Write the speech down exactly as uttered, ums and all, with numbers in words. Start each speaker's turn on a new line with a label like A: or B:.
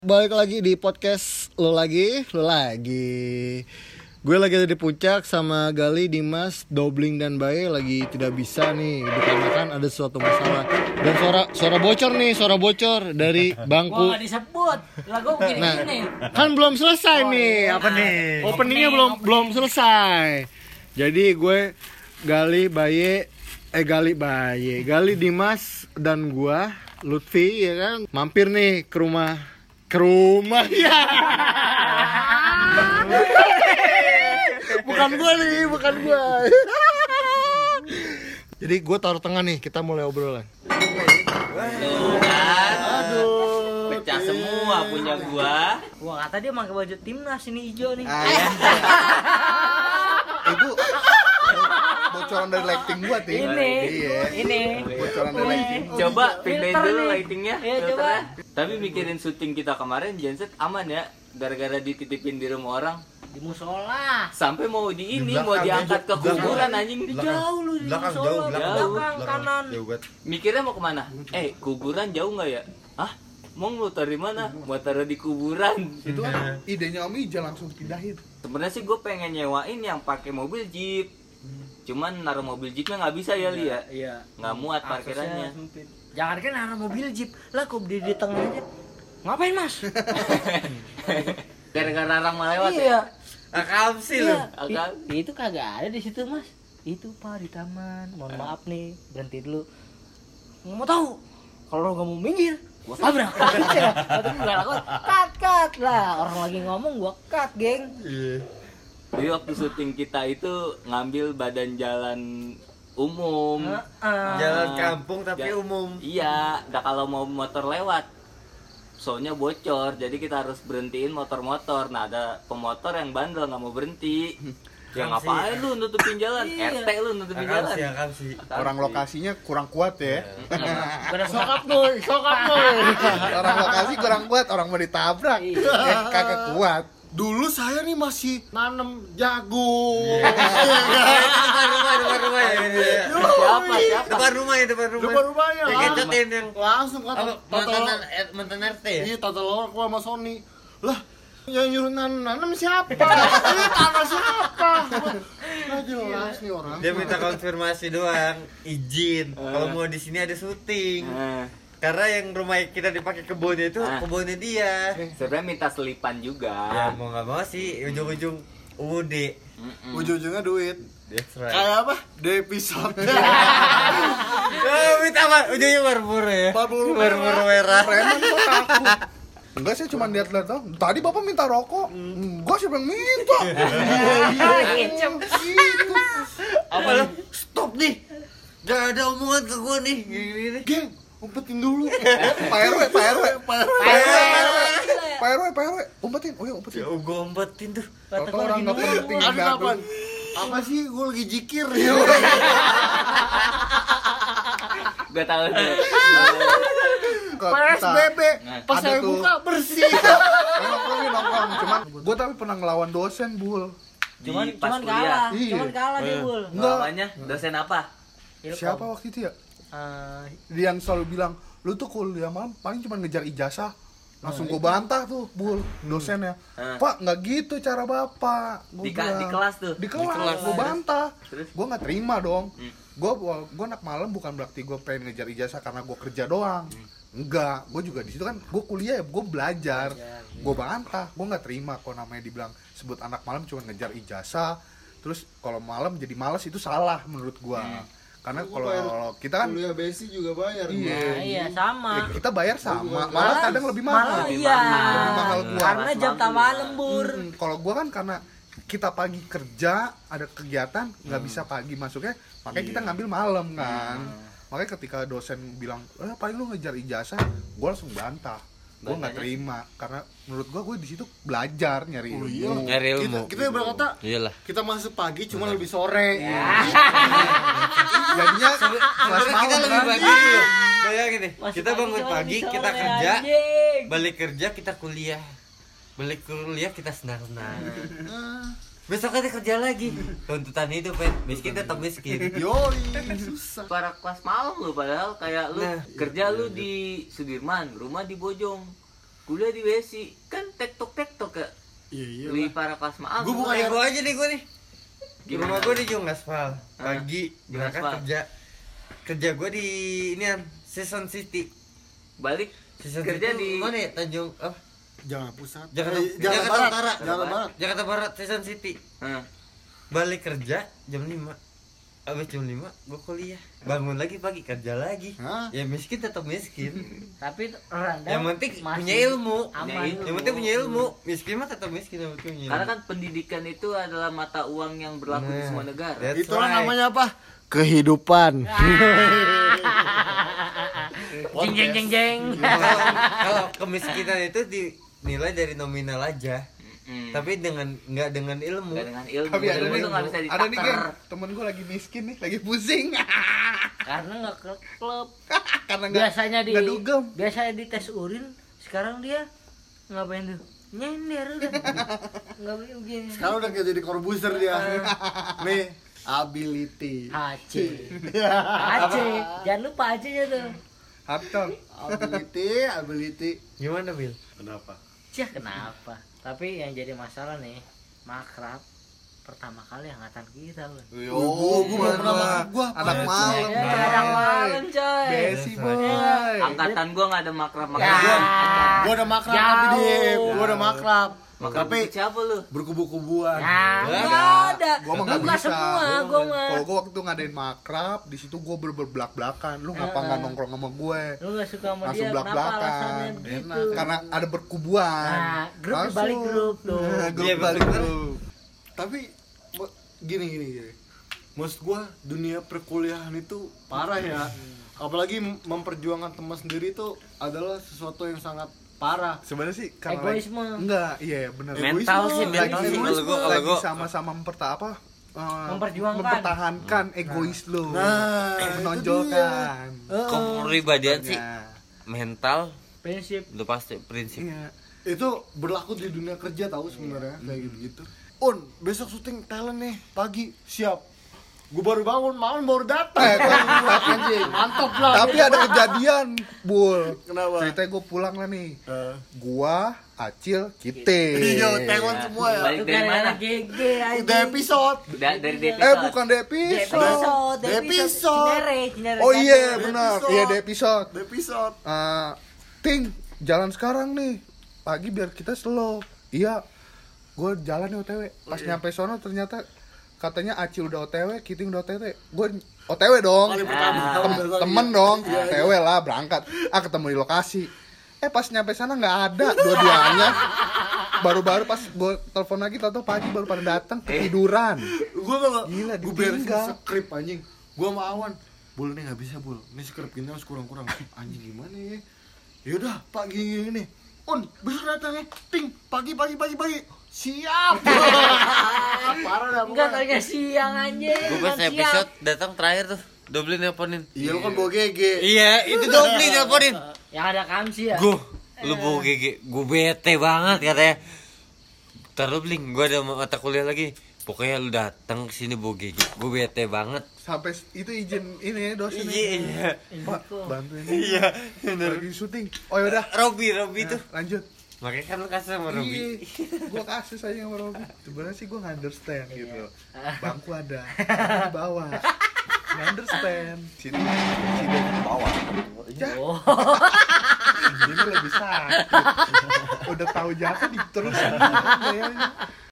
A: Balik lagi di podcast lo lagi, lo lagi. Gue lagi ada di puncak sama Gali, Dimas, Dobling dan Bae lagi tidak bisa nih dikarenakan ada suatu masalah. Dan suara suara bocor nih, suara bocor dari bangku.
B: Wah, gak disebut. Lah gue begini
A: Nah,
B: gini.
A: kan belum selesai
B: Oh,
A: nih,
B: iya.
A: apa nih?
B: Opening,
A: Openingnya belum
B: opening.
A: belum selesai. Jadi gue Gali, Bae, eh Gali, Bae, Gali, Dimas dan gua Lutfi ya kan mampir nih ke rumah ke rumah ya. Bukan gua nih, bukan gua. Jadi gua taruh tengah nih, kita mulai obrolan.
C: Tuh kan,
A: Aduh.
C: pecah semua punya gua.
B: Wah, kata dia pakai baju timnas ini hijau nih.
D: Ah, iya. Itu bocoran dari lighting gua, Ting.
B: Ini,
D: Iya.
B: ini.
D: Bocoran dari lighting.
C: Coba
B: Filter
C: pindahin dulu
B: nih.
C: lightingnya.
B: Iya,
C: filternya.
B: coba.
C: Tapi mikirin syuting kita kemarin, Genset aman ya, gara-gara dititipin di rumah orang.
B: Di musola.
C: Sampai mau di ini,
D: Di belakang,
C: mau diangkat ke
D: di belakang.
C: kuburan anjing.
B: Di
D: Belakang.
B: jauh lu di
D: Belakang,
B: musola.
D: jauh,
C: belakang.
B: belakang, kanan.
D: Jauh banget.
C: Mikirnya mau kemana? Eh, kuburan jauh nggak ya? Hah? Mau lu taruh di mana? Mau taruh di kuburan.
D: Itu kan idenya Om Ija langsung pindahin.
C: Sebenarnya sih gue pengen nyewain yang pakai mobil jeep. Cuman naruh mobil jeepnya nggak bisa ya, Li ya?
B: Iya.
C: Nggak muat parkirannya.
B: Aksesnya sempit. Jangan kan naruh mobil jeep. Lah kok berdiri di tengah aja. Ngapain, Mas?
C: Gara-gara orang mau lewat ya?
B: Iya.
C: Akal sih lu.
B: Iya.
C: Akal.
B: I- Itu kagak ada di situ, Mas. Itu Pak di taman. Mohon maaf nih, berhenti dulu. Mau tahu? Kalau nggak mau minggir, gua tabrak. Kata gua lakukan, cut cut lah. Orang lagi ngomong gua cut, geng.
C: Jadi waktu syuting kita itu ngambil badan jalan umum.
B: Heeh.
E: Jalan kampung tapi
C: Ja-
E: umum.
C: Iya, udah kalau mau motor lewat. Soalnya bocor, jadi kita harus berhentiin motor-motor. Nah, ada pemotor yang bandel nggak mau berhenti. Ya
E: Akal
C: ngapain
E: sih.
C: lu nutupin jalan?
B: Iya.
C: R T lu nutupin
E: Akal
C: jalan.
E: sih, akal sih.
C: Akal
D: Orang
C: sih.
D: lokasinya kurang kuat ya.
B: Bener
A: Sokap boy, sokap boy.
D: Orang lokasi kurang kuat, orang mau ditabrak.
B: Iya.
D: Eh, kagak kuat.
A: Dulu saya nih masih nanem jagung.
E: Depan rumah, depan rumah ya.
C: Siapa? Siapa?
E: Depan rumah ya, depan rumah.
A: Depan rumahnya
E: Yang
A: langsung.
E: ngecatin yang
A: Langsung kata
E: apa? Mantan eh, mantan R T ya?
A: Iya, tata lawak gua sama Sony. Lah, yang nyuruh nanam siapa? Ini tanah siapa? Nggak jelas nih orang.
E: Dia minta konfirmasi doang, izin. Kalau mau di sini ada syuting.
C: Eh,
E: Karena yang rumah kita dipakai kebunnya itu
C: Ah.
E: kebunnya dia.
C: sebenarnya minta selipan juga.
E: Ya mau nggak mau sih ujung-ujung U D.
C: Mm-mm.
A: Ujung-ujungnya duit.
E: That's right.
A: Kayak apa? Di episode.
E: Oh, minta apa? Ujungnya marmur ya.
A: Marmur
E: Marmur merah.
D: Preman kok takut. Enggak sih, cuma lihat-lihat doang. Tadi Bapak minta rokok. Enggak, siapa yang minta?
B: Kecem.
D: Gitu.
E: Apa lo? Stop nih. Gak ada omongan ke gua nih. Gini nih.
A: Geng, umpetin dulu.
D: Pak R W, Pak R W, Pak R W. Pak R W, Pak R W. Umpetin, oh ya umpetin.
E: Ya gua umpetin tuh.
B: Kata
D: Kata
B: gua
D: orang
B: lagi
D: nggak
B: nunggu.
D: penting.
A: Ada
D: Nggak
A: apaan? Apa sih? Gue lagi jikir.
C: Gak tahu tuh.
D: Ke
A: P S B B.
C: Nah,
A: Pas
D: ada
A: saya
D: tuh.
A: buka bersih.
D: Nongkrong nih, nongkrong. Cuman gue tapi pernah ngelawan dosen, Bul.
B: Cuman
C: Di pas
B: cuman
C: kuliah.
B: kalah,
D: Iya.
B: cuman kalah dia, Bul.
D: Enggak.
C: Namanya dosen apa?
B: Ilkom.
D: Siapa waktu itu ya?
B: Eh,
D: Dia yang selalu bilang, lu tuh kuliah malam paling cuma ngejar ijazah. Langsung gue bantah tuh, Bul, dosennya.
C: Hmm.
D: Pak, nggak gitu cara Bapak. Gua
C: Di, ka- di
D: bilang.
C: kelas tuh.
D: Di kelas, gue bantah.
C: Terus?
D: Gue nggak terima dong.
C: Hmm.
D: Gue gue anak malam bukan berarti gue pengen ngejar ijazah karena gue kerja doang. Enggak, gue juga di situ kan gue kuliah ya, gue belajar. Gue bantah, gue nggak terima kok namanya dibilang sebut anak malam cuma ngejar ijazah. Terus kalau malam jadi malas itu salah menurut gue. Karena kalau kita kan
A: Kuliah besi juga bayar.
D: Iya.
B: Nah, iya sama.
D: ya, kita bayar sama, malah
B: Malah-
D: kadang lebih
B: Malah
D: mahal.
C: Lebih
B: iya.
C: mahal.
D: Lebih mahal gua.
B: Karena jam tambahan lembur.
D: Hmm, kalau gua kan karena kita pagi kerja ada kegiatan nggak
C: Hmm.
D: bisa pagi masuknya, makanya
C: Iya.
D: kita ngambil malam kan.
C: Hmm.
D: Makanya ketika dosen bilang, eh paling lu ngejar ijazah, gua langsung bantah. Gua nggak
C: Bantahnya?
D: terima karena menurut gua gue di situ belajar nyari
A: Oh,
D: ilmu.
A: iya.
E: Nyari
A: Kita,
E: ilmu.
A: kita berkata
E: Iyalah.
A: kita masuk pagi cuma lebih sore.
D: Jadinya kelas
E: Sebenarnya kita
D: malam
E: lebih
D: kan.
E: pagi dulu. Bayangin deh,
B: Masuk
E: kita
B: pagi
E: bangun
B: cuma
E: pagi,
B: lebih
E: kita
B: sore,
E: kerja,
B: anjing.
E: balik kerja kita kuliah. Balik kuliah kita senang-senang. Besok kita kerja lagi. Tuntutan itu, Pen. Miskin tetap miskin.
A: Yoi, susah.
C: Para kelas malam lu padahal kayak lu
E: Nah,
C: kerja lu di Sudirman, rumah di Bojong. kuliah di W S I kan tektok tektok ya.
A: Iya iya.
C: Lebih parah kelas maaf.
A: Gua bukan
E: Kayak gue aja nih gue nih. Di
C: Gimana?
E: rumah gue di Jung Aspal. Pagi
C: Jung
E: berangkat
C: Aspal.
E: kerja. Kerja gue di inian Season City.
C: Balik
E: Season
C: kerja
E: City
C: di
E: mana ya? Tanjung oh,
A: Jakarta Pusat.
E: Jakarta,
A: Eh, Jakarta,
E: Jakarta
A: Barat.
E: Utara.
A: Jakarta Barat.
E: Jakarta Barat Season City.
C: Heeh.
E: Balik kerja jam lima. Abis jam lima gue kuliah. Bangun lagi pagi kerja lagi.
A: Hah?
E: Ya miskin tetap miskin.
B: Tapi rendah
E: Yang penting
B: masih
E: punya ilmu.
B: aman.
C: Punya
E: Yang penting punya ilmu. Miskin mah tetap miskin yang penting punya ilmu.
C: Karena kan pendidikan itu adalah mata uang yang berlaku di
E: Nah,
C: semua negara.
E: that's
A: Itulah
E: right.
A: namanya apa? Kehidupan.
B: Jeng jeng jeng jeng.
E: Kalau kalau kemiskinan itu dinilai dari nominal aja.
C: Mm.
E: Tapi dengan nggak dengan ilmu.
C: Nggak dengan ilmu.
D: Tapi ada
C: ilmu
D: nih,
C: tuh nggak bisa
D: ada nih
C: ditakar.
D: geng, temen gue lagi miskin nih, lagi pusing.
B: Karena nggak ke klub.
D: Karena nggak
B: Biasanya di
D: nggak dugem.
B: biasanya di tes urin, sekarang dia ngapain tuh? Nyender udah. Nggak begini.
A: Sekarang udah kayak jadi korbuser dia. Nih, ability.
B: A C. A C. Jangan lupa A C-nya tuh.
D: Harta.
A: Ability, ability.
E: Gimana Bil?
A: Kenapa?
B: Cih, kenapa? Tapi yang jadi masalah nih, makrab pertama kali angkatan kita, Bun.
A: Oh, gua belum pernah makan. Gua
D: anak malam.
B: Ya, anak malam, coy.
D: Besi boy.
C: Angkatan gua nggak ada makrab
B: Ya.
C: makrab.
A: Gua udah makrab
B: Jauh.
A: tapi di gua udah makrab.
C: Makrab
A: Tapi
C: itu siapa lu?
A: berkubu-kubuan.
B: Ya,
E: Nggak
B: nggak ada.
D: Gua mah
B: Lu
D: nggak
B: nggak
D: bisa.
B: semua, gua mah.
D: Kalau gue waktu itu ngadain makrab, di situ gue berbelak-belakan. Lu ngapa nggak nongkrong sama gue?
B: Lu nggak suka sama
D: Langsung
B: dia, kenapa
D: belak-belakan.
B: alasannya begitu?
D: Karena ada berkubuan.
B: Nah, grup
D: Langsung.
B: dibalik grup tuh.
D: Nah, grup
E: Iya,
D: balik
E: bener.
D: grup.
A: Tapi mo- gini gini gini. Maksud gua dunia perkuliahan itu parah ya. Apalagi m- memperjuangkan teman sendiri itu adalah sesuatu yang sangat parah.
D: Sebenarnya sih karena
B: Egoisme.
D: lagi- enggak, iya benar.
E: Mental sih,
D: Lagi,
E: mental sih kalau gua kalau
D: lagi
E: gua
D: sama-sama memperta apa? eh,
B: Memperjuangkan.
D: mempertahankan egois lu.
A: Nah, itu
D: menonjolkan.
E: kepribadian sih
D: Nah,
E: mental
B: Prinsip.
E: udah pasti prinsip.
D: iya.
A: Itu berlaku di dunia kerja tahu sebenarnya kayak gitu-gitu. Un, besok syuting talent nih pagi siap. Gue baru bangun, malam baru datang.
D: Eh, tapi,
A: Anjing, mantap lah.
D: tapi ada kejadian, Bul.
A: Kenapa?
D: Ceritanya gue pulang lah nih.
A: Eh,
D: Gua, Acil, Kite.
A: Iya, talent semua ya.
C: Balik
B: Itu
C: dari
B: kan
C: mana?
B: anak G G aja.
A: Udah episode.
C: Da- dari D P
D: Eh, bukan di
B: Di
D: episode.
B: episode, di
A: Episode.
B: episode. Cinere, Cinere.
D: Oh iya,
A: Di
D: benar.
A: episode.
D: Iya, di episode.
A: Udah episode.
D: Eh, Ting, jalan sekarang nih. Pagi biar kita slow. Iya. Gue jalan nih O T W. Pas nyampe sono ternyata katanya Acil udah O T W, Kiting udah O T W. Gue O T W dong.
A: Kali pertama.
D: Tem- temen dong, O T W lah berangkat. Ah ketemu di lokasi. Eh pas nyampe sana nggak ada dua-duanya. Baru-baru pas gue telepon lagi, tau-tau pagi baru pada datang ketiduran.
A: Gue tau
D: Gila,
A: gue beresin
D: ditinggal.
A: skrip anjing. Gue sama Awan. Bul nih nggak bisa bul. Ini skrip kita harus kurang-kurang. Anjing gimana ya? Yaudah Pak gini gini nih. Un, besok datang ya. Ting, pagi pagi pagi pagi. Siap. Parah dah.
B: Enggak
A: pokoknya.
B: tanya siang anjing.
E: Gue pas
B: bukan
E: episode
B: siang.
E: datang terakhir tuh Dobli nelponin.
A: Iya lu kan bawa G G.
E: Iya, itu Dobli nelponin.
B: Yang ada Kamsi ya.
E: Gue, lu bawa G G, gue bete banget katanya. Taruh bling, gue ada mata kuliah lagi. Pokoknya lu datang ke sini bawa G G, gue bete banget.
D: Sampai itu izin ini dosen.
E: Iya,
D: Pak, bantuin.
E: iya,
D: Lagi syuting. Oh yaudah,
E: Robi, Robi tuh.
D: lanjut.
E: Makanya kan lu kasih sama Robi.
D: Gue kasih saya sama Robi. Sebenarnya sih gue nggak understand gitu. Bangku ada, di bawah. Nggak understand. Sini, sini di bawah. Ya,
B: Oh.
D: ini lebih sakit. Udah tahu jatuh diterusin kayaknya.